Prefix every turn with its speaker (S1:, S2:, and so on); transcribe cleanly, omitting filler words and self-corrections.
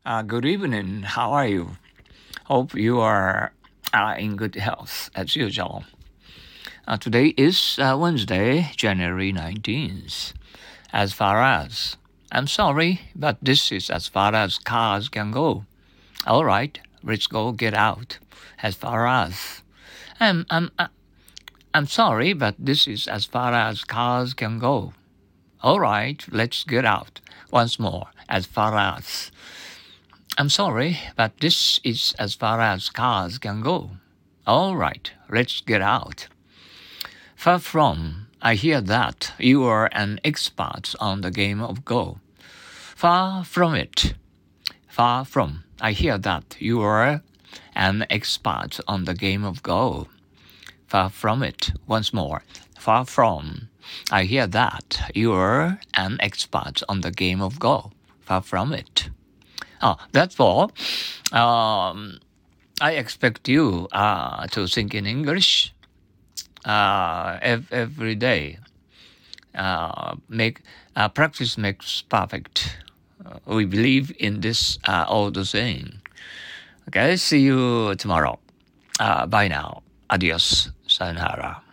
S1: Good evening. How are you? Hope you are in good health as usual. Today is Wednesday, January 19th. As far as I'm sorry, but this is as far as cars can go. All right, let's go get out. As far as I'm sorry, but this is as far as cars can go. All right, let's get out. Once more, as far as. I'm sorry, but this is as far as cars can go. All right, let's get out. Far from, I hear that you are an expert on the game of Go. Far from it. Far from, I hear that you are an expert on the game of Go. Far from it. Once more. Far from, I hear that you are an expert on the game of Go. Far from it. That's all. I expect you to think in English every day. Practice makes perfect. We believe in this old saying. Okay, see you tomorrow. Bye now. Adios. Sayonara.